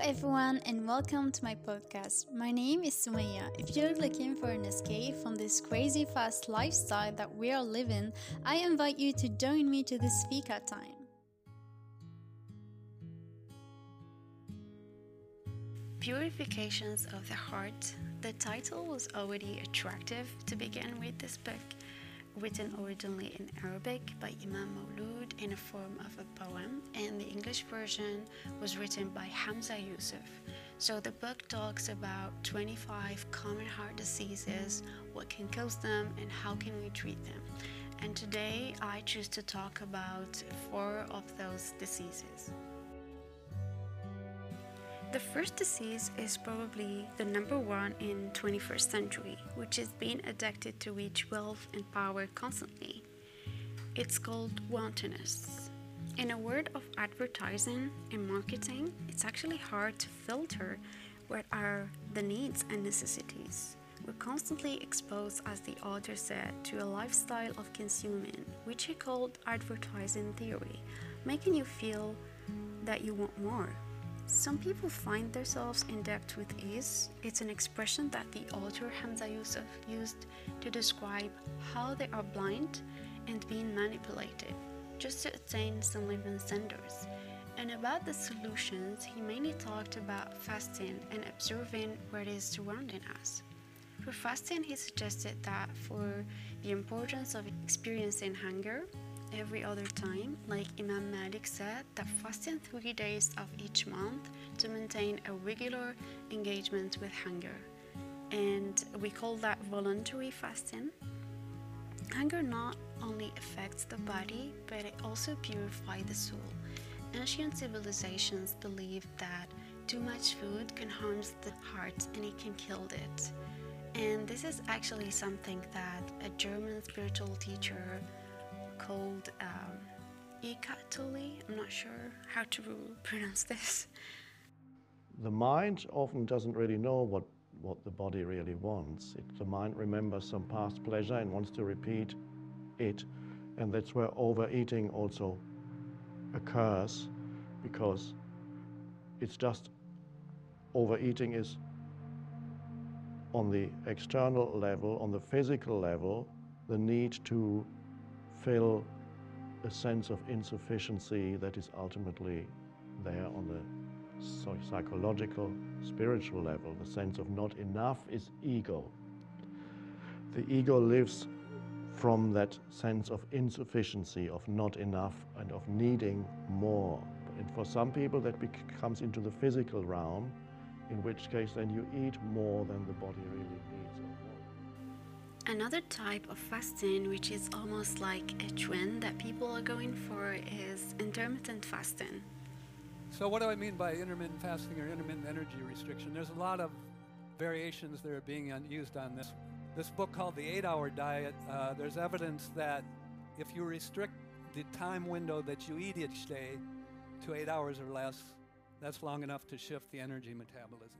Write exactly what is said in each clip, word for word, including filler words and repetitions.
everyone, and welcome to my podcast. My name is Sumaya. If you're looking for an escape from this crazy fast lifestyle that we are living, I invite you to join me to this fika time. Purifications of the Heart. The title was already attractive to begin with this book, written originally in Arabic by Imam Maulud in a form of a poem, and the English version was written by Hamza Yusuf. So the book talks about twenty-five common heart diseases, what can cause them, and how can we treat them. And today I choose to talk about four of those diseases. The first disease is probably the number one in twenty-first century, which is being addicted to reach wealth and power constantly. It's called wantonness. In a world of advertising and marketing, it's actually hard to filter what are the needs and necessities. We're constantly exposed, as the author said, to a lifestyle of consuming, which he called advertising theory, making you feel that you want more. Some people find themselves in debt with ease. It's an expression that the author Hamza Yusuf used to describe how they are blind and being manipulated just to attain some living standards. And about the solutions, he mainly talked about fasting and observing what is surrounding us. For fasting, he suggested that for the importance of experiencing hunger every other time, like Imam Malik said, that fasting three days of each month to maintain a regular engagement with hunger. And we call that voluntary fasting. Hunger not only affects the body, but it also purifies the soul. Ancient civilizations believed that too much food can harm the heart and it can kill it. And this is actually something that a German spiritual teacher called um, Eckhart Tolle. I'm not sure how to pronounce this. The mind often doesn't really know what, what the body really wants. It, the mind remembers some past pleasure and wants to repeat it. And that's where overeating also occurs, because it's just overeating is on the external level, on the physical level, the need to fill a sense of insufficiency that is ultimately there on the sorry, psychological, spiritual level. The sense of not enough is ego. The ego lives from that sense of insufficiency, of not enough, and of needing more. And for some people that comes into the physical realm, in which case then you eat more than the body really needs. Another type of fasting, which is almost like a trend that people are going for, is intermittent fasting. So what do I mean by intermittent fasting or intermittent energy restriction? There's a lot of variations that are being used on this. This book called The eight-Hour Diet, uh, there's evidence that if you restrict the time window that you eat each day to eight hours or less, that's long enough to shift the energy metabolism.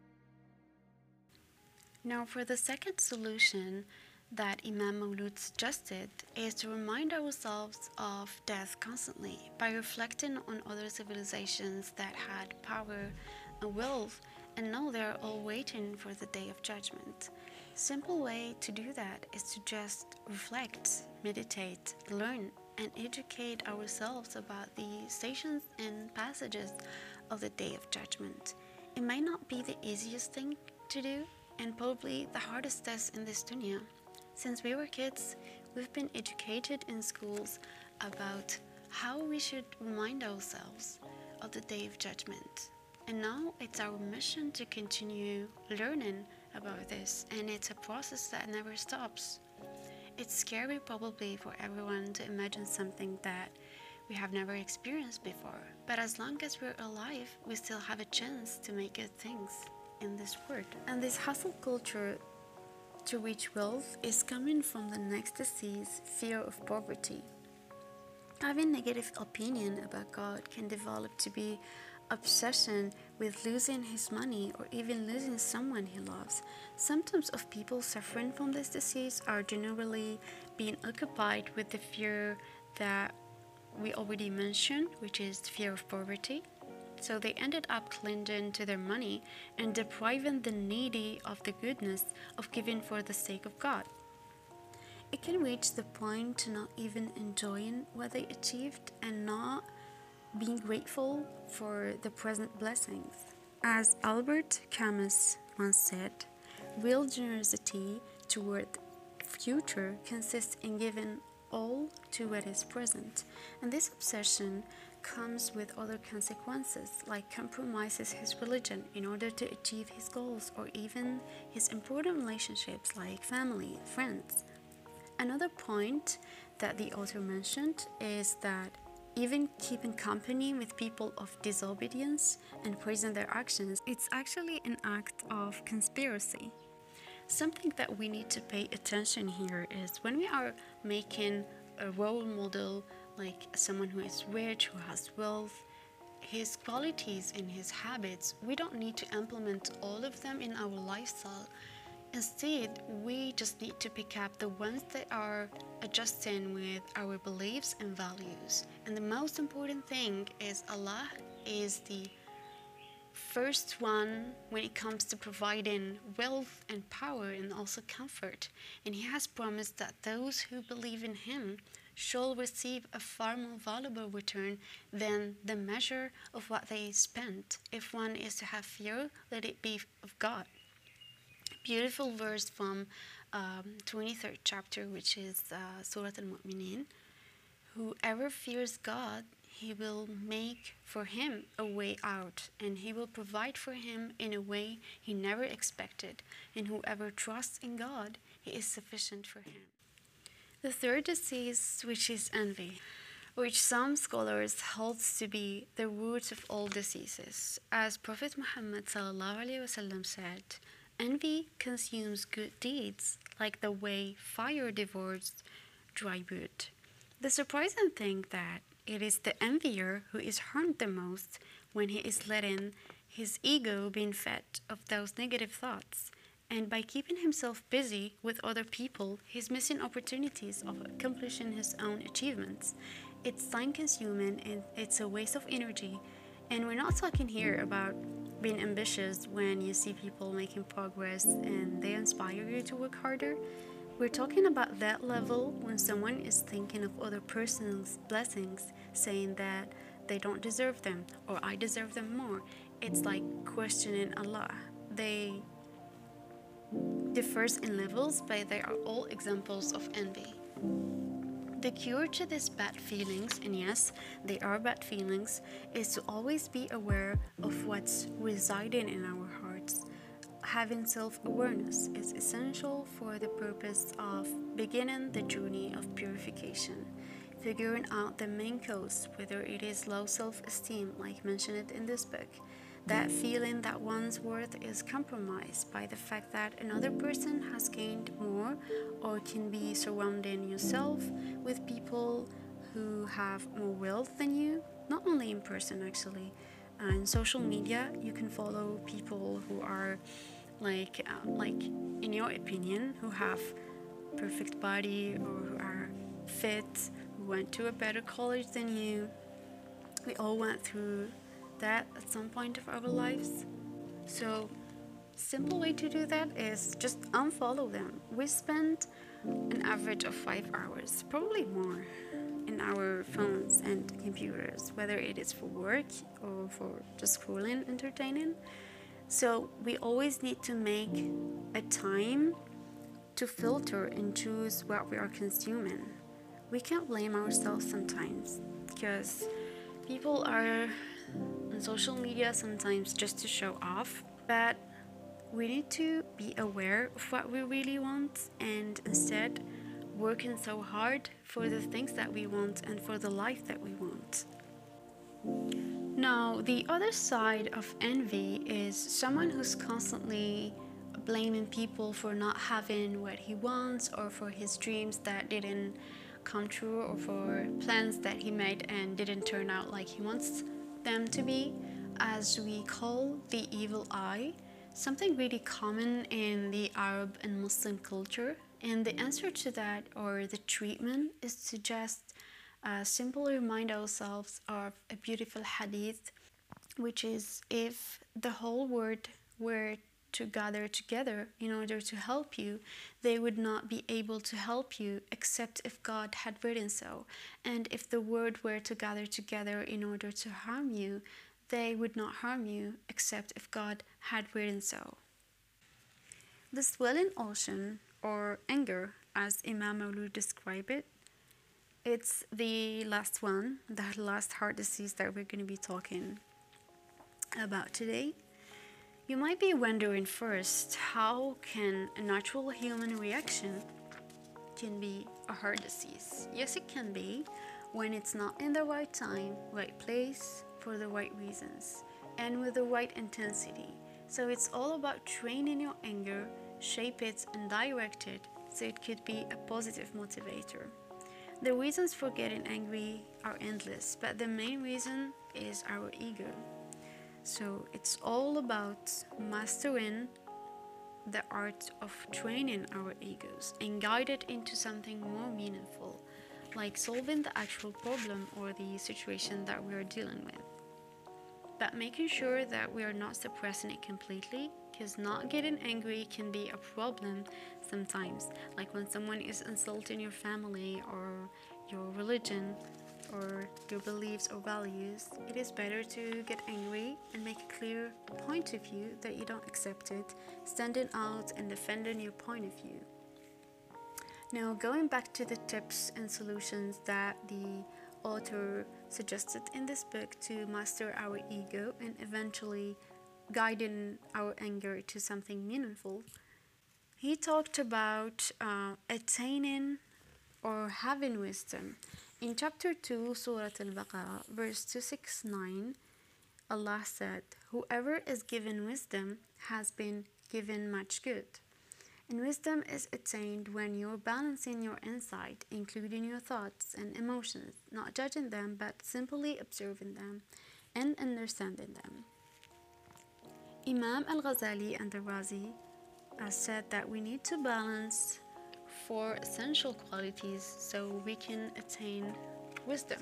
Now, for the second solution that Imam Maulud suggested is to remind ourselves of death constantly by reflecting on other civilizations that had power and wealth and know they're all waiting for the day of judgment. Simple way to do that is to just reflect, meditate, learn, and educate ourselves about the stations and passages of the day of judgment. It might not be the easiest thing to do, and probably the hardest test in this dunya. Since we were kids, we've been educated in schools about how we should remind ourselves of the day of judgment. And now it's our mission to continue learning about this, and it's a process that never stops. It's scary probably for everyone to imagine something that we have never experienced before, but as long as we're alive, we still have a chance to make good things in this world. And this hustle culture to reach wealth is coming from the next disease, fear of poverty. Having negative opinion about God can develop to be obsession with losing his money or even losing someone he loves. Symptoms of people suffering from this disease are generally being occupied with the fear that we already mentioned, which is fear of poverty, So they ended up clinging to their money and depriving the needy of the goodness of giving for the sake of God. It can reach the point to not even enjoying what they achieved and not being grateful for the present blessings. As Albert Camus once said, real generosity toward the future consists in giving all to what is present, and this obsession comes with other consequences, like compromises his religion in order to achieve his goals, or even his important relationships like family, friends. Another point that the author mentioned is that even keeping company with people of disobedience and praising their actions, it's actually an act of conspiracy. Something that we need to pay attention here is when we are making a role model, like someone who is rich, who has wealth, his qualities and his habits, we don't need to implement all of them in our lifestyle. Instead, we just need to pick up the ones that are adjusting with our beliefs and values. And the most important thing is Allah is the first one when it comes to providing wealth and power and also comfort. And He has promised that those who believe in Him shall receive a far more valuable return than the measure of what they spent. If one is to have fear, let it be of God. Beautiful verse from um, twenty-third chapter, which is uh, Surah Al-Mu'mineen. Whoever fears God, He will make for him a way out, and He will provide for him in a way he never expected. And whoever trusts in God, He is sufficient for him. The third disease, which is envy, which some scholars hold to be the root of all diseases. As Prophet Muhammad sallallahu alaihi wasallam said, envy consumes good deeds like the way fire devours dry wood. The surprising thing that it is the envier who is harmed the most when he is letting his ego being fed of those negative thoughts. And by keeping himself busy with other people, he's missing opportunities of accomplishing his own achievements. It's time-consuming and it's a waste of energy. And we're not talking here about being ambitious when you see people making progress and they inspire you to work harder. We're talking about that level when someone is thinking of other person's blessings, saying that they don't deserve them or I deserve them more. It's like questioning Allah. They differ in levels, but they are all examples of envy. The cure to these bad feelings, and yes, they are bad feelings, is to always be aware of what's residing in our hearts. Having self-awareness is essential for the purpose of beginning the journey of purification, figuring out the main cause, whether it is low self-esteem, like mentioned in this book, that feeling that one's worth is compromised by the fact that another person has gained more, or can be surrounding yourself with people who have more wealth than you, not only in person actually. Uh, in social media, you can follow people who are like, uh, like in your opinion, who have perfect body or who are fit, who went to a better college than you. We all went through that at some point of our lives. So simple way to do that is just unfollow them. We spend an average of five hours, probably more, in our phones and computers, whether it is for work or for just scrolling, entertaining. So we always need to make a time to filter and choose what we are consuming. We can't blame ourselves sometimes because people are on social media sometimes just to show off, but we need to be aware of what we really want and instead working so hard for the things that we want and for the life that we want. Now, the other side of envy is someone who's constantly blaming people for not having what he wants, or for his dreams that didn't come true, or for plans that he made and didn't turn out like he wants them to be, as we call the evil eye, something really common in the Arab and Muslim culture. And the answer to that, or the treatment, is to just uh, simply remind ourselves of a beautiful hadith which is if the whole world were to gather together in order to help you, they would not be able to help you except if God had written so. And if the world were to gather together in order to harm you, they would not harm you except if God had written so. The swelling ocean, or anger, as Imam Maulud described it, it's the last one, the last heart disease that we're going to be talking about today. You might be wondering first, how can a natural human reaction can be a heart disease? Yes, it can be when it's not in the right time, right place, for the right reasons, and with the right intensity. So it's all about training your anger, shape it and direct it so it could be a positive motivator. The reasons for getting angry are endless, but the main reason is our ego. So it's all about mastering the art of training our egos and guide it into something more meaningful, like solving the actual problem or the situation that we are dealing with. But making sure that we are not suppressing it completely, because not getting angry can be a problem sometimes, like when someone is insulting your family or your religion or your beliefs or values. It is better to get angry and make a clear point of view that you don't accept it, standing out and defending your point of view. Now, going back to the tips and solutions that the author suggested in this book to master our ego and eventually guiding our anger to something meaningful, he talked about uh, attaining or having wisdom. In chapter two, Surah Al-Baqarah, verse two sixty-nine, Allah said, "Whoever is given wisdom has been given much good." And wisdom is attained when you're balancing your insight, including your thoughts and emotions, not judging them, but simply observing them and understanding them. Imam Al-Ghazali and the Razi uh, said that we need to balance four essential qualities so we can attain wisdom.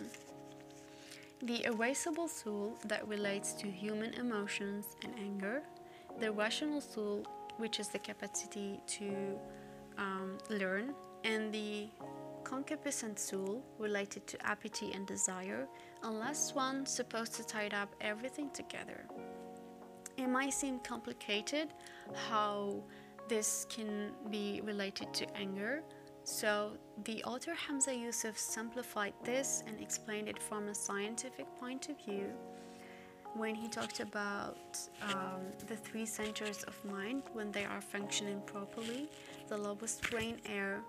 The erasable soul that relates to human emotions and anger, the rational soul, which is the capacity to um, learn, and the concupiscent soul related to appetite and desire, and last one supposed to tie up everything together. It might seem complicated how this can be related to anger, so the author Hamza Yusuf simplified this and explained it from a scientific point of view when he talked about um, the three centers of mind when they are functioning properly: the lowest brain area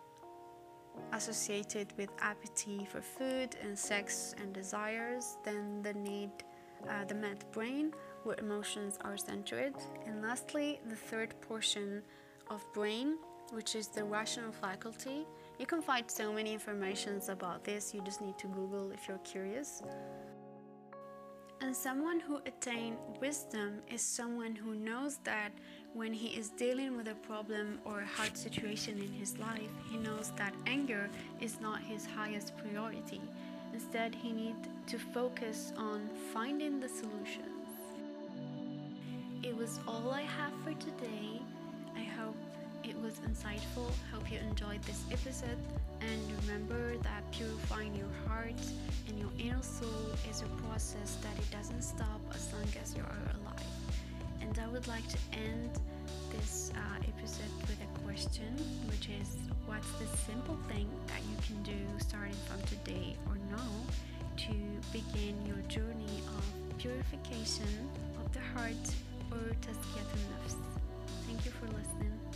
associated with appetite for food and sex and desires, then the need, uh, the mid brain where emotions are centered, and lastly the third portion of brain, which is the rational faculty. You can find so many informations about this, you just need to Google if you're curious. And someone who attains wisdom is someone who knows that when he is dealing with a problem or a hard situation in his life, he knows that anger is not his highest priority. Instead, he needs to focus on finding the solutions. It was all I have for today. I hope it was insightful. Hope you enjoyed this episode, and remember that purifying your heart and your inner soul is a process that it doesn't stop as long as you are alive. And I would like to end this uh, episode with a question, which is, what's the simple thing that you can do starting from today or now to begin your journey of purification of the heart, or tazkiyat al-nafs? Thank you for listening.